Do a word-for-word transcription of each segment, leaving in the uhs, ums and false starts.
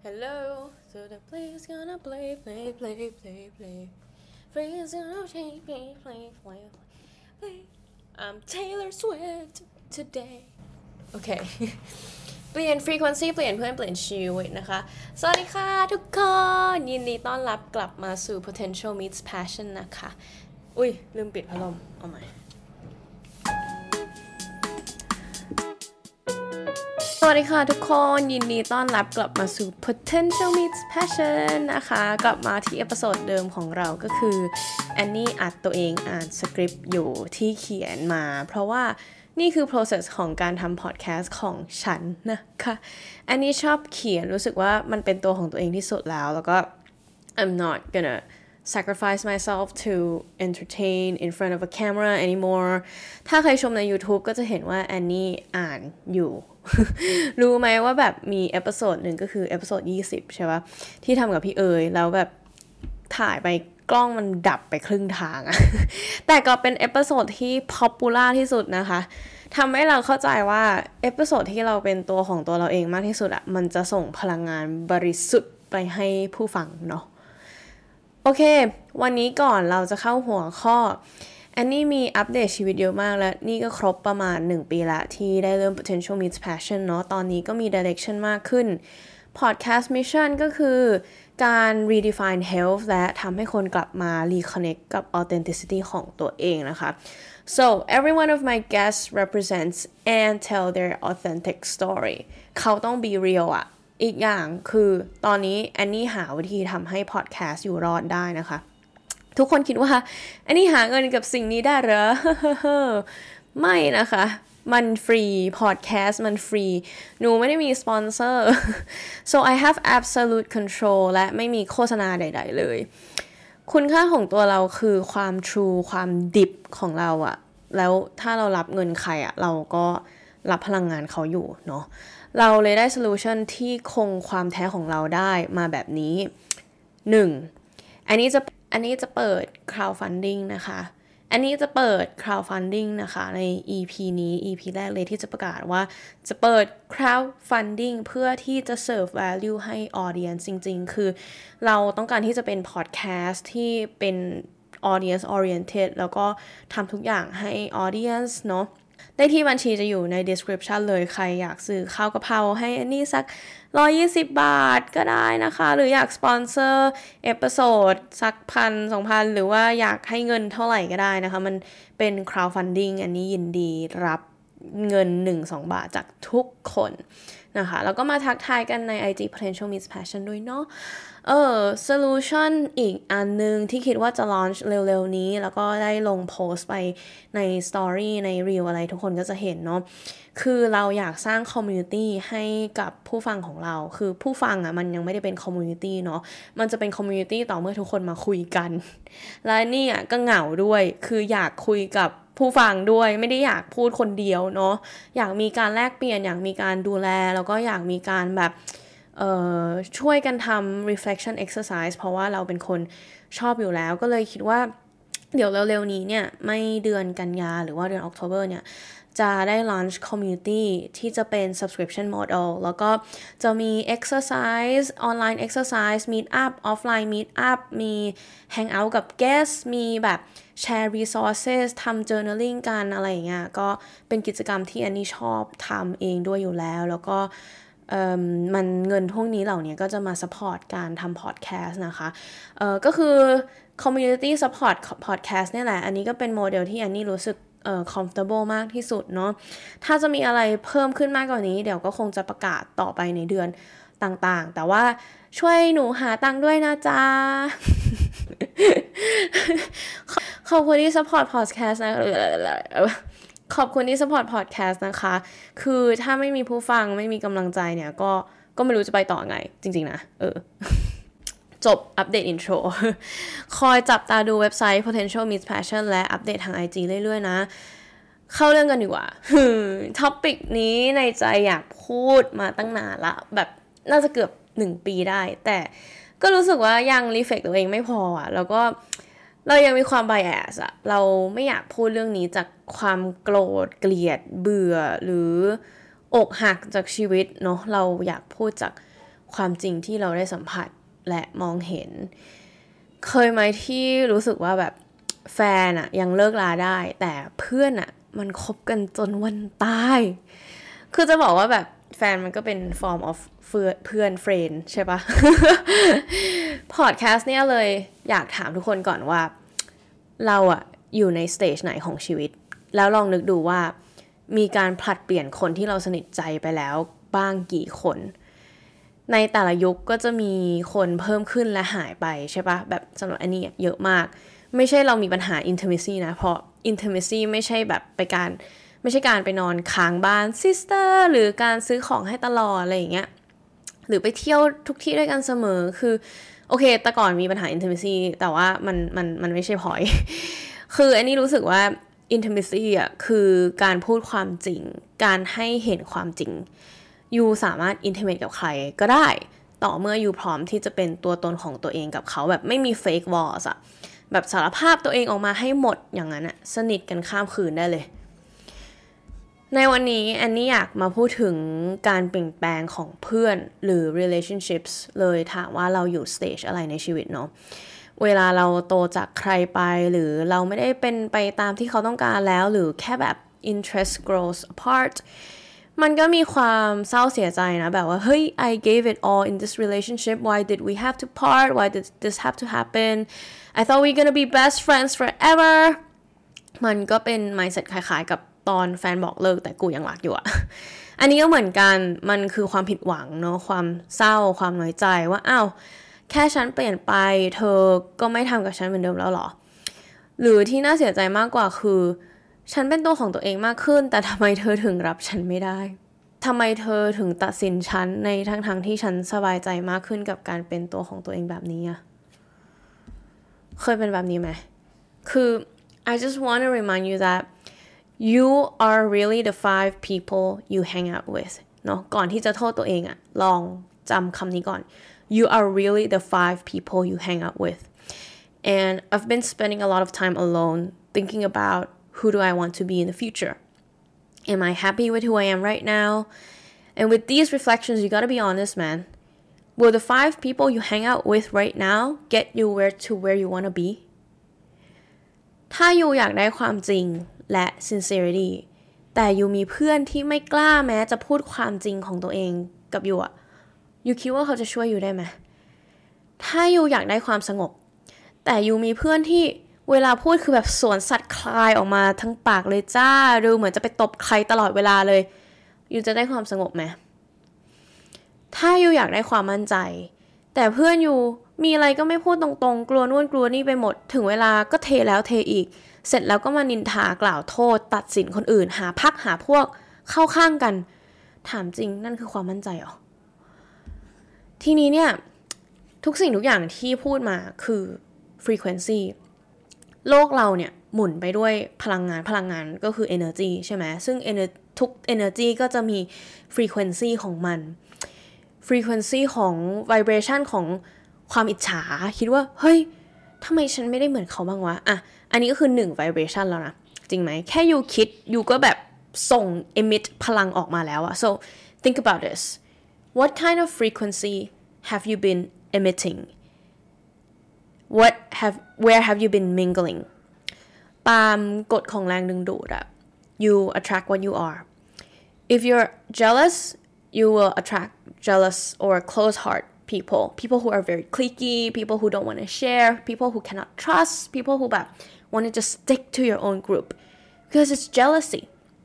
Hello, so the play's gonna play, play, play, play, play. Play's gonna change, play, play, play, play. I'm Taylor Swift today. โอเค เปลี่ยน frequency เปลี่ยนเพื่อนเปลี่ยนชีวิตนะคะ สวัสดีค่ะทุกคน ยินดีต้อนรับกลับมาสู่ Potential Meets Passion นะคะ อุ้ยลืมปิดพัดลมเอาใหม่สวัสดีค่ะทุกคนยินดีต้อนรับกลับมาสู่ Potential Meets Passion นะคะกลับมาที่เอพิโซดเดิมของเราก็คือแอนนี่อัดตัวเองอ่านสคริปต์อยู่ที่เขียนมาเพราะว่านี่คือ process ของการทำ podcast ของฉันนะคะแอนนี่ชอบเขียนรู้สึกว่ามันเป็นตัวของตัวเองที่สุดแล้วแล้วก็ I'm not gonna sacrifice myself to entertain in front of a camera anymore ถ้าใครชมใน YouTube ก็จะเห็นว่าแอนนี่อ่านอยู่ รู้ไหมว่าแบบมีเอพิโซดหนึ่งก็คือเอพิโซดยี่สิบใช่ปะที่ทำกับพี่เอ๋ยแล้วแบบถ่ายไปกล้องมันดับไปครึ่งทางอะ แต่ก็เป็นเอพิโซดที่ popular ที่สุดนะคะทำให้เราเข้าใจว่าเอพิโซดที่เราเป็นตัวของตัวเราเองมากที่สุดอะมันจะส่งพลังงานบริสุทธิ์ไปให้ผู้ฟังเนาะโอเควันนี้ก่อนเราจะเข้าหัวข้อแอนนี่มีอัปเดตชีวิตเยอะมากแล้วนี่ก็ครบประมาณหนึ่งปีละที่ได้เริ่ม Potential Meets Passion เนาะตอนนี้ก็มี direction มากขึ้น Podcast Mission ก็คือการ redefine health และทำให้คนกลับมา reconnect กับ authenticity ของตัวเองนะคะ so every one of my guests represents and tell their authentic story เขาต้อง be real อะอีกอย่างคือตอนนี้แอนนี่หาวิธีทำให้ podcast อยู่รอดได้นะคะทุกคนคิดว่าอันนี้หาเงินกับสิ่งนี้ได้เหรอ ไม่นะคะมันฟรีพอดแคสต์มันฟรีหนูไม่ได้มีสปอนเซอร์ so I have absolute control และไม่มีโฆษณาใดๆเลยคุณค่าของตัวเราคือความ true ความดิบของเราอะแล้วถ้าเรารับเงินใครอะเราก็รับพลังงานเขาอยู่เนาะเราเลยได้โซลูชันที่คงความแท้ของเราได้มาแบบนี้หนึ่งอันนี้จะอันนี้จะเปิด crowdfunding นะคะอันนี้จะเปิด crowdfunding นะคะใน อี พี นี้ อี พี แรกเลยที่จะประกาศว่าจะเปิด crowdfunding เพื่อที่จะ serve value ให้ audience จริงๆคือเราต้องการที่จะเป็น podcast ที่เป็น audience oriented แล้วก็ทำทุกอย่างให้ audience เนาะได้ที่บัญชีจะอยู่ใน description เลยใครอยากซื้อข้าวกะเพราให้อันนี้สักหนึ่งร้อยยี่สิบบาทก็ได้นะคะหรืออยากสปอนเซอร์เอพิโซดสักพันสองพันหรือว่าอยากให้เงินเท่าไหร่ก็ได้นะคะมันเป็น crowdfunding อันนี้ยินดีรับเงิน หนึ่งถึงสอง บาทจากทุกคนนะคะแล้วก็มาทักทายกันใน ไอ จี Potential Meets Passion ด้วยเนาะเออ solution อีกอันนึงที่คิดว่าจะ launch เร็วๆนี้แล้วก็ได้ลงโพสต์ไปใน story ใน reel อะไรทุกคนก็จะเห็นเนาะคือเราอยากสร้าง community ให้กับผู้ฟังของเราคือผู้ฟังอ่ะมันยังไม่ได้เป็น community เนาะมันจะเป็น community ต่อเมื่อทุกคนมาคุยกันและนี่อ่ะก็เหงาด้วยคืออยากคุยกับผู้ฟังด้วยไม่ได้อยากพูดคนเดียวเนาะอยากมีการแลกเปลี่ยนอยากมีการดูแลแล้วก็อยากมีการแบบเอ่อช่วยกันทำ reflection exercise เพราะว่าเราเป็นคนชอบอยู่แล้วก็เลยคิดว่าเดี๋ยวเร็วๆนี้เนี่ยไม่เดือนกันยาหรือว่าเดือน October เนี่ยจะได้ launch community ที่จะเป็น subscription model แล้วก็จะมี exercise online exercise meet up offline meet up มี hang out กับ guest มีแบบแชร์ resources ทำ journaling กันอะไรอย่างเงี้ยก็เป็นกิจกรรมที่อันนี้ชอบทำเองด้วยอยู่แล้วแล้วก็มันเงินพวกนี้เหล่านี้ก็จะมา support การทำ podcast นะคะเอ่อก็คือ community support podcast เนี่ยแหละอันนี้ก็เป็นโมเดลที่อันนี้รู้สึกเอ่อ comfortable มากที่สุดเนาะถ้าจะมีอะไรเพิ่มขึ้นมากกว่านี้เดี๋ยวก็คงจะประกาศต่อไปในเดือนต่างๆแต่ว่าช่วยหนูหาตังค์ด้วยนะจ๊ะ ขอบคุณที่ support podcast นะขอบคุณที่ support podcast นะคะคือถ้าไม่มีผู้ฟังไม่มีกำลังใจเนี่ยก็ก็ไม่รู้จะไปต่อไงจริงๆนะเออ จบอัปเดตอินโทรคอยจับตาดูเว็บไซต์ Potential Meets Passion และอัปเดตทาง ไอ จี เรื่อยๆนะเข้าเรื่องกันดีกว่าท็อปิกนี้ในใจอยากพูดมาตั้งนานละแบบน่าจะเกือบหนึ่งปีได้แต่ก็รู้สึกว่ายังรีเฟล็กตัวเองไม่พออ่ะแล้วก็เรายังมีความ bias อะเราไม่อยากพูดเรื่องนี้จากความโกรธเกลียดเบื่อหรืออกหักจากชีวิตเนาะเราอยากพูดจากความจริงที่เราได้สัมผัสและมองเห็นเคยไหมที่รู้สึกว่าแบบแฟนอะยังเลิกลาได้แต่เพื่อนอะมันคบกันจนวันตายคือจะบอกว่าแบบแฟนมันก็เป็น form of เพื่อนเฟรนด์ใช่ปะ พอดแคสต์เนี่ยเลยอยากถามทุกคนก่อนว่าเราอะอยู่ในสเตจไหนของชีวิตแล้วลองนึกดูว่ามีการผลัดเปลี่ยนคนที่เราสนิทใจไปแล้วบ้างกี่คนในแต่ละยุคก็จะมีคนเพิ่มขึ้นและหายไปใช่ปะแบบสำหรับอันนี้เยอะมากไม่ใช่เรามีปัญหา intimacy นะเพราะ intimacy ไม่ใช่แบบไปการไม่ใช่การไปนอนค้างบ้าน sister หรือการซื้อของให้ตลอดอะไรอย่างเงี้ยหรือไปเที่ยวทุกที่ด้วยกันเสมอคือโอเคแต่ก่อนมีปัญหา intimacy แต่ว่ามันมันมันไม่ใช่ point คืออันนี้รู้สึกว่า intimacy อ่ะคือการพูดความจริงการให้เห็นความจริงยูสามารถ intimate กับใครก็ได้ต่อเมื่อยูพร้อมที่จะเป็นตัวตนของตัวเองกับเขาแบบไม่มี fake walls อะแบบสารภาพตัวเองออกมาให้หมดอย่างนั้นอะสนิทกันข้ามคืนได้เลยในวันนี้แอนนี่อยากมาพูดถึงการเปลี่ยนแปลงของเพื่อนหรือ relationships เลยถามว่าเราอยู่ stage อะไรในชีวิตเนาะเวลาเราโตจากใครไปหรือเราไม่ได้เป็นไปตามที่เขาต้องการแล้วหรือแค่แบบ interest grows apartมันก็มีความเศร้าเสียใจนะแบบว่าเฮ้ย I gave it all in this relationship why did we have to part why did this have to happen I thought we gonna be best friends forever มันก็เป็น mindset คล้ายๆกับตอนแฟนบอกเลิกแต่กูยังรักอยู่อะ อันนี้ก็เหมือนกันมันคือความผิดหวังเนาะความเศร้าความน้อยใจว่าอ้าวแค่ฉันเปลี่ยนไปเธอก็ไม่ทำกับฉันเหมือนเดิมแล้วหรอหรือที่น่าเสียใจมากกว่าคือฉันเป็นตัวของตัวเองมากขึ้นแต่ทำไมเธอถึงรับฉันไม่ได้ทำไมเธอถึงตัดสินฉันในทั้งทางที่ฉันสบายใจมากขึ้นกับการเป็นตัวของตัวเองแบบนี้อะเคยเป็นแบบนี้ไหมคือ I just want to remind you that you are really the five people you hang out with เนาะก่อนที่จะโทษตัวเองอะลองจำคำนี้ก่อน you are really the five people you hang out with and I've been spending a lot of time alone thinking about who do I want to be in the future am I happy with who I am right now and with these reflections you gotta be honest man will the five people you hang out with right now get you where to where you wanna be ถ้าอยู่อยากได้ความจริงและ sincerity แต่อยู่มีเพื่อนที่ไม่กล้าแม้จะพูดความจริงของตัวเองกับอยู่อะอยู่คิดว่าเขาจะช่วยอยู่ได้ไหมถ้าอยู่อยากได้ความสงบแต่อยู่มีเพื่อนที่เวลาพูดคือแบบสวนสัตว์คลายออกมาทั้งปากเลยจ้าดูเหมือนจะไปตบใครตลอดเวลาเลยอยู่จะได้ความสงบไหมถ้าอยู่อยากได้ความมั่นใจแต่เพื่อนอยู่มีอะไรก็ไม่พูดตรงๆกลัวนู่นกลัวนี่ไปหมดถึงเวลาก็เทแล้วเทอีกเสร็จแล้วก็มานินทากล่าวโทษตัดสินคนอื่นหาพักหาพวกเข้าข้างกันถามจริงนั่นคือความมั่นใจเหรอทีนี้เนี่ยทุกสิ่งทุกอย่างที่พูดมาคือ frequency โลกเราเนี่ยหมุนไปด้วยพลังงานพลังงานก็คือ energy ใช่ไหมซึ่ง ทุก energy ก็จะมี frequency ของมัน frequency ของ vibration ของความอิจฉาคิดว่าเฮ้ยทำไมฉันไม่ได้เหมือนเขาบ้างวะอ่ะอันนี้ก็คือหนึ่ง vibration แล้วนะจริงไหมแค่ยูคิดยูก็แบบส่ง emit พลังออกมาแล้วอะ so think about this what kind of frequency have you been emitting what have where have you been mingling ตามกฎของแรงดึงดูดอะ you attract what you are if you're jealous you will attract jealous or close heart people people who are very cliquey people who don't want to share people who cannot trust people who แบบ want to just stick to your own group because it's jealousy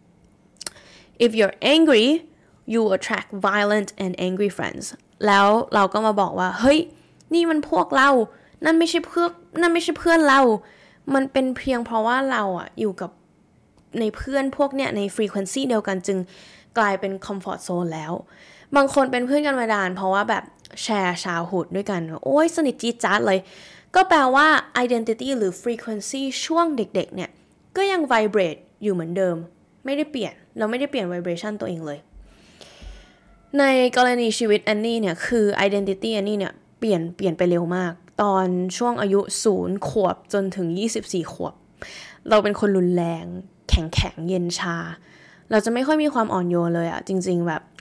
if you're angry you attract violent and angry friends แล้วเราก็มาบอกว่าเฮ้ยนี่มันพวกเรานั่นไม่ใช่เพื่อนนั่นไม่ใช่เพื่อนเรามันเป็นเพียงเพราะว่าเราอะอยู่กับในเพื่อนพวกเนี้ยใน frequency เดียวกันจึงกลายเป็น comfort zone แล้วบางคนเป็นเพื่อนกันมานานเพราะว่าแบบแชร์ชาวหุดด้วยกันโอ้ยสนิทจี๊ดจ๊าดเลยก็แปลว่า identity หรือ frequency ช่วงเด็กๆเนี่ยก็ยัง vibrate อยู่เหมือนเดิมไม่ได้เปลี่ยนเราไม่ได้เปลี่ยน vibration ตัวเองเลยในกรณีชีวิตแอนนี่เนี่ยคือ identity แอนนี่เนี่ยเปลี่ยนเปลี่ยนไปเร็วมากตอนช่วงอายุศูนย์ขวบจนถึงยี่สิบสี่ขวบเราเป็นคนรุนแรงแข็งแข็งเย็นชาเราจะไม่ค่อยมีความอ่อนโยนเลยอะจริงๆแบบ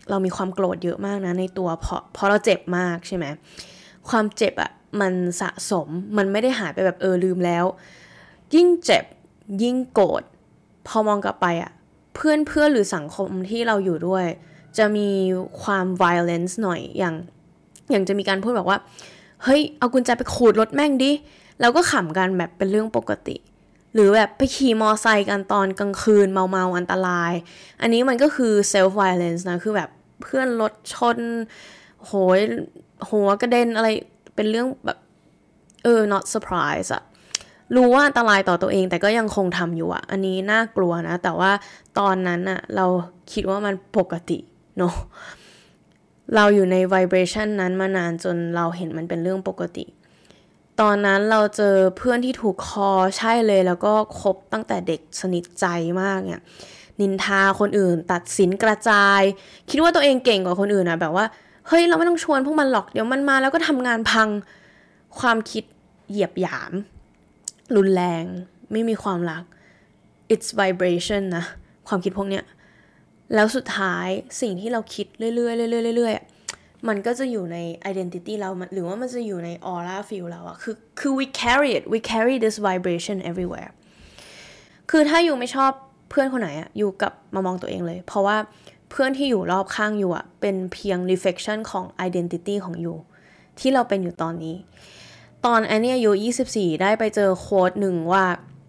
เรามีความโกรธเยอะมากนะในตัวเพราะเพราะเราเจ็บมากใช่ไหมความเจ็บอะมันสะสมมันไม่ได้หายไปแบบเออลืมแล้วยิ่งเจ็บยิ่งโกรธพอมองกลับไปอะเพื่อนเพื่อนหรือสังคมที่เราอยู่ด้วยจะมีความ violence หน่อยอย่างอย่างจะมีการพูดบอกว่าเฮ้ยเอากุญแจไปขูดรถแม่งดิแล้วก็ขำกันแบบเป็นเรื่องปกติหรือแบบไปขี่มอไซค์กันตอนกลางคืนเมาๆอันตรายอันนี้มันก็คือ self violence นะคือแบบเพื่อนรถชนโหยหัวกระเด็นอะไรเป็นเรื่องแบบเออ not surprise อะรู้ว่าอันตรายต่อตัวเองแต่ก็ยังคงทำอยู่อะอันนี้น่ากลัวนะแต่ว่าตอนนั้นอะเราคิดว่ามันปกติเนาะเราอยู่ใน vibration นั้นมานานจนเราเห็นมันเป็นเรื่องปกติตอนนั้นเราเจอเพื่อนที่ถูกคอใช่เลยแล้วก็คบตั้งแต่เด็กสนิทใจมากเนี่ยนินทาคนอื่นตัดสินกระจายคิดว่าตัวเองเก่งกว่าคนอื่นนะแบบว่าเฮ้ยเราไม่ต้องชวนพวกมันหรอกเดี๋ยวมันมาแล้วก็ทำงานพังความคิดเหยียบหยามรุนแรงไม่มีความรัก it's vibration นะความคิดพวกเนี้ยแล้วสุดท้ายสิ่งที่เราคิดเรื่อยๆเรื่อยๆเรื่อยๆมันก็จะอยู่ใน identity เราหรือว่ามันจะอยู่ใน aura field เราอะคือคือ we carry it we carry this vibration everywhere คือถ้าอยู่ไม่ชอบเพื่อนคนไหนอะอยู่กับมามองตัวเองเลยเพราะว่าเพื่อนที่อยู่รอบข้างอยู่อะเป็นเพียง reflection ของ identity ของอยู่ที่เราเป็นอยู่ตอนนี้ตอนอันนี้อายุยี่สิบสี่ได้ไปเจอโค้ดหนึ่งว่า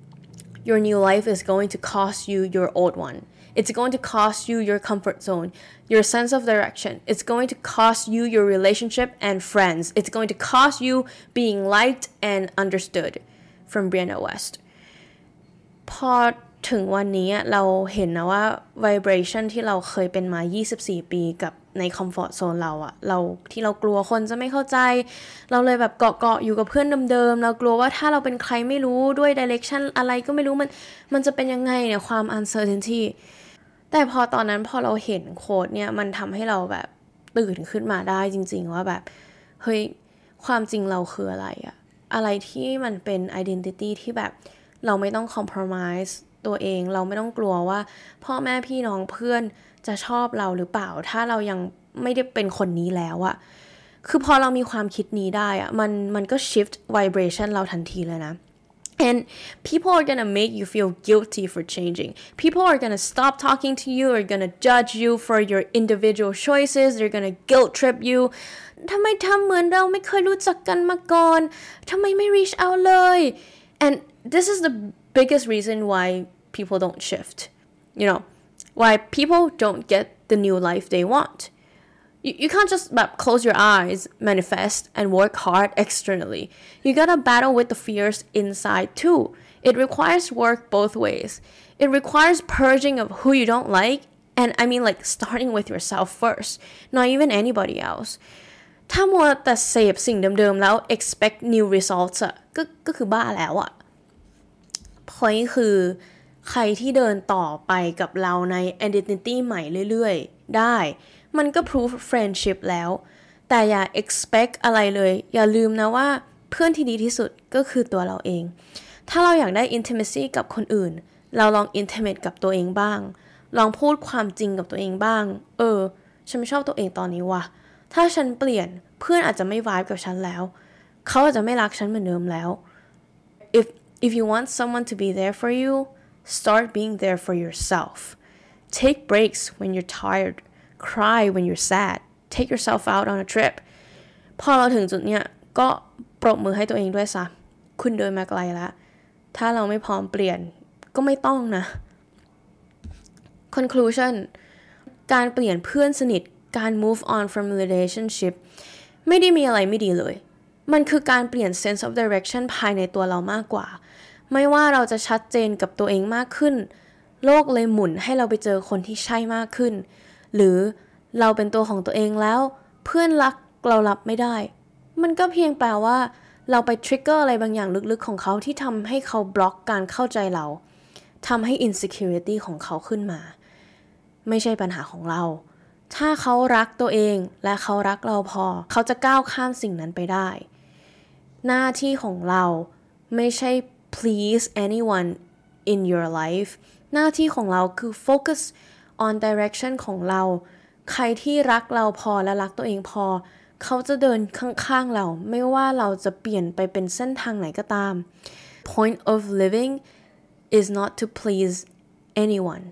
your new life is going to cost you your old one it's going to cost you your comfort zone your sense of direction it's going to cost you your relationship and friends it's going to cost you being liked and understood from Brianna West พอถึงวันนี้เราเห็นนะว่า vibration ที่เราเคยเป็นมายี่สิบสี่ปีกับใน comfort zone เราอะเราที่เรากลัวคนจะไม่เข้าใจเราเลยแบบเกาะๆอยู่กับเพื่อนเดิมๆเรากลัวว่าถ้าเราเป็นใครไม่รู้ด้วย direction อะไรก็ไม่รู้มันมันจะเป็นยังไงเนี่ยความ uncertainty แต่พอตอนนั้นพอเราเห็นโค้ดเนี่ยมันทำให้เราแบบตื่นขึ้นมาได้จริงๆว่าแบบเฮ้ยความจริงเราคืออะไรอะอะไรที่มันเป็น identity ที่แบบเราไม่ต้อง compromise ตัวเองเราไม่ต้องกลัวว่าพ่อแม่พี่น้องเพื่อนจะชอบเราหรือเปล่าถ้าเรายังไม่ได้เป็นคนนี้แล้วอะคือพอเรามีความคิดนี้ได้อะมันมันก็ shift vibration เราทันทีเลยนะ and people are gonna make you feel guilty for changing people are gonna stop talking to you are gonna judge you for your individual choices they're gonna guilt trip you ทำไมทำเหมือนเราไม่เคยรู้จักกันมาก่อนทำไมไม่ reach out เลย and this is the biggest reason why people don't shift you know why people don't get the new life they want you, you can't justแบบ, close your eyes manifest and work hard externally you gotta battle with the fears inside too it requires work both ways it requires purging of who you don't like and I mean like starting with yourself first not even anybody elseถ้ามัวแต่เสพสิ่งเดิมๆแล้ว expect new results อะก็ก็คือบ้าแล้วอะ point คือใครที่เดินต่อไปกับเราใน identity ใหม่เรื่อยๆได้มันก็ proof friendship แล้วแต่อย่า expect อะไรเลยอย่าลืมนะว่าเพื่อนที่ดีที่สุดก็คือตัวเราเองถ้าเราอยากได้ intimacy กับคนอื่นเราลอง intimate กับตัวเองบ้างลองพูดความจริงกับตัวเองบ้างเออฉันไม่ชอบตัวเองตอนนี้ว่ะถ้าฉันเปลี่ยนเพื่อนอาจจะไม่ vibe กับฉันแล้วเขาอาจจะไม่รักฉันเหมือนเดิมแล้ว if if you want someone to be there for you start being there for yourself take breaks when you're tired cry when you're sad take yourself out on a trip พอเราถึงจุดเนี้ยก็ปรบมือให้ตัวเองด้วยซะคุณเดินมาไกลแล้วถ้าเราไม่พร้อมเปลี่ยนก็ไม่ต้องนะ conclusion การเปลี่ยนเพื่อนสนิทการ move on from relationship ไม่ได้มีอะไรไม่ดีเลยมันคือการเปลี่ยน sense of direction ภายในตัวเรามากกว่าไม่ว่าเราจะชัดเจนกับตัวเองมากขึ้นโลกเลยหมุนให้เราไปเจอคนที่ใช่มากขึ้นหรือเราเป็นตัวของตัวเองแล้วเพื่อนรักเรารับไม่ได้มันก็เพียงแปลว่าเราไปทริกเกอร์อะไรบางอย่างลึกๆของเขาที่ทำให้เขาบล็อกการเข้าใจเราทำให้ insecurity ของเขาขึ้นมาไม่ใช่ปัญหาของเราถ้าเขารักตัวเองและเขารักเราพอเขาจะก้าวข้ามสิ่งนั้นไปได้หน้าที่ของเราไม่ใช่ please anyone in your life หน้าที่ของเราคือ focus on direction ของเราใครที่รักเราพอและรักตัวเองพอเขาจะเดินข้างๆเราไม่ว่าเราจะเปลี่ยนไปเป็นเส้นทางไหนก็ตาม Point of living is not to please anyone.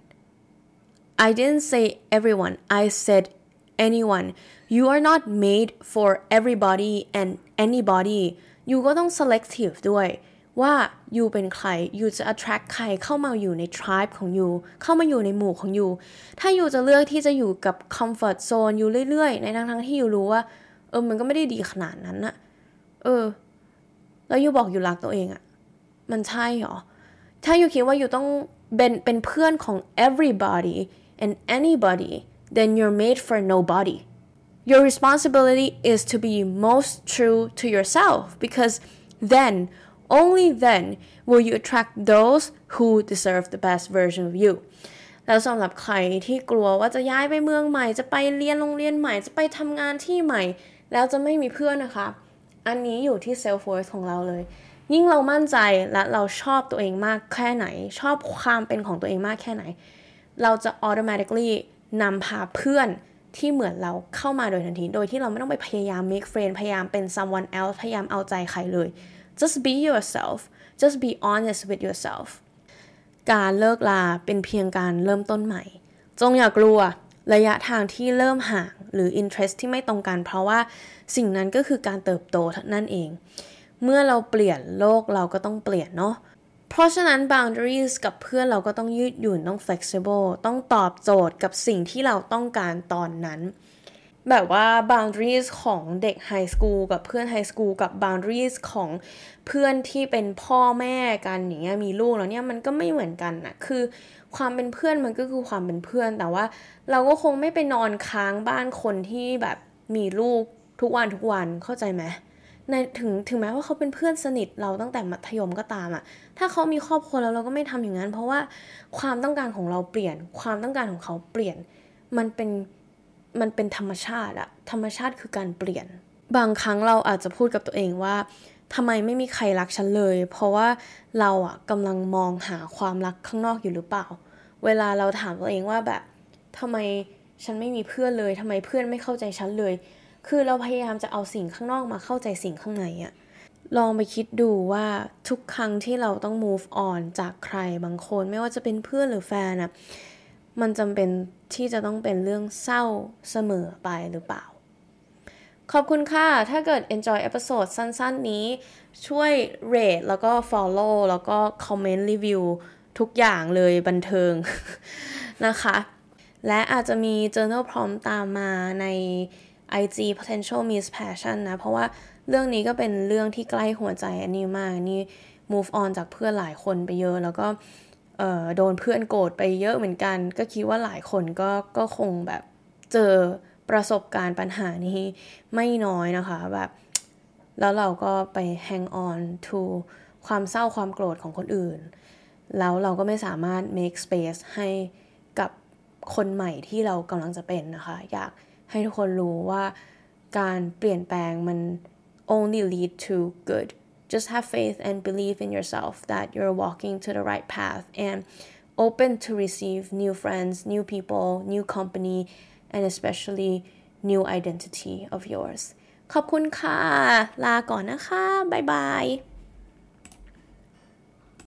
I didn't say everyone. I said anyone. You are not made for everybody and anybody. You ก็ต้อง selective ด้วยว่า you เป็นใคร you จะ attract ใครเข้ามาอยู่ใน tribe ของ you เข้ามาอยู่ในหมู่ของ you ถ้า you จะเลือกที่จะอยู่กับ comfort zone อยู่เรื่อยๆในทั้งๆที่ you รู้ว่าเออมันก็ไม่ได้ดีขนาดนั้นน่ะเออแล้ว you บอก you รักตัวเองอะมันใช่หรอถ้า you คิดว่า you ต้องเป็นเป็นเพื่อนของ everybody and anybody then you're made for nobody. Your responsibility is to be most true to yourself because then, only then, will you attract those who deserve the best version of you. แล้วสำหรับใครที่กลัวว่าจะย้ายไปเมืองใหม่จะไปเรียนโรงเรียนใหม่จะไปทำงานที่ใหม่แล้วจะไม่มีเพื่อนนะคะอันนี้อยู่ที่ self worth ของเราเลยยิ่งเรามั่นใจและเราชอบตัวเองมากแค่ไหนชอบความเป็นของตัวเองมากแค่ไหนเราจะ automatically นำพาเพื่อนที่เหมือนเราเข้ามาโดยทันทีโดยที่เราไม่ต้องไปพยายาม make friend พยายามเป็น someone else พยายามเอาใจใครเลย just be yourself just be honest with yourself การเลิกลาเป็นเพียงการเริ่มต้นใหม่จงอย่ากลัวระยะทางที่เริ่มห่างหรือ interest ที่ไม่ตรงกันเพราะว่าสิ่งนั้นก็คือการเติบโตนั่นเองเมื่อเราเปลี่ยนโลกเราก็ต้องเปลี่ยนเนาะเพราะฉะนั้น boundaries กับเพื่อนเราก็ต้องยืดหยุ่นต้อง flexible ต้องตอบโจทย์กับสิ่งที่เราต้องการตอนนั้นแบบว่า boundaries ของเด็ก high school กับเพื่อน high school กับ boundaries ของเพื่อนที่เป็นพ่อแม่กันอย่างเงี้ยมีลูกแล้วเนี่ยมันก็ไม่เหมือนกันนะคือความเป็นเพื่อนมันก็คือความเป็นเพื่อนแต่ว่าเราก็คงไม่ไปนอนค้างบ้านคนที่แบบมีลูกทุกวันทุกวันเข้าใจไหมในถึงถึงแม้ว่าเขาเป็นเพื่อนสนิทเราตั้งแต่มัธยมก็ตามอะถ้าเขามีครอบครัวแล้วเราก็ไม่ทำอย่างนั้นเพราะว่าความต้องการของเราเปลี่ยนความต้องการของเขาเปลี่ยนมันเป็นมันเป็นธรรมชาติอะธรรมชาติคือการเปลี่ยนบางครั้งเราอาจจะพูดกับตัวเองว่าทำไมไม่มีใครรักฉันเลยเพราะว่าเราอะกำลังมองหาความรักข้างนอกอยู่หรือเปล่าเวลาเราถามตัวเองว่าแบบทำไมฉันไม่มีเพื่อนเลยทำไมเพื่อนไม่เข้าใจฉันเลยคือเราพยายามจะเอาสิ่งข้างนอกมาเข้าใจสิ่งข้างในอะลองไปคิดดูว่าทุกครั้งที่เราต้อง move on จากใครบางคนไม่ว่าจะเป็นเพื่อนหรือแฟนอะมันจำเป็นที่จะต้องเป็นเรื่องเศร้าเสมอไปหรือเปล่าขอบคุณค่ะถ้าเกิด enjoy episode สั้นๆนี้ช่วย rate แล้วก็ follow แล้วก็ comment review ทุกอย่างเลยบันเทิง นะคะและอาจจะมี journal prompt ตามมาใน ไอ จี potential meets passion นะเพราะว่าเรื่องนี้ก็เป็นเรื่องที่ใกล้หัวใจอันนี้มากนี่ move on จากเพื่อนหลายคนไปเยอะแล้วก็เอ่อโดนเพื่อนโกรธไปเยอะเหมือนกันก็คิดว่าหลายคนก็ก็คงแบบเจอประสบการณ์ปัญหานี้ไม่น้อยนะคะแบบแล้วเราก็ไป hang on to ความเศร้าความโกรธของคนอื่นแล้วเราก็ไม่สามารถ make space ให้กับคนใหม่ที่เรากำลังจะเป็นนะคะอยากให้ทุกคนรู้ว่าการเปลี่ยนแปลงมัน only lead to good just have faith and believe in yourself that you're walking to the right path and open to receive new friends new people new company and especially new identity of yours ขอบคุณค่ะลาก่อนนะคะบ๊ายบาย